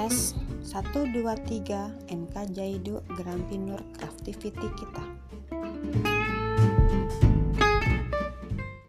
Tes 1 2 3 NK Jaidu Gerampinur Craftivity kita.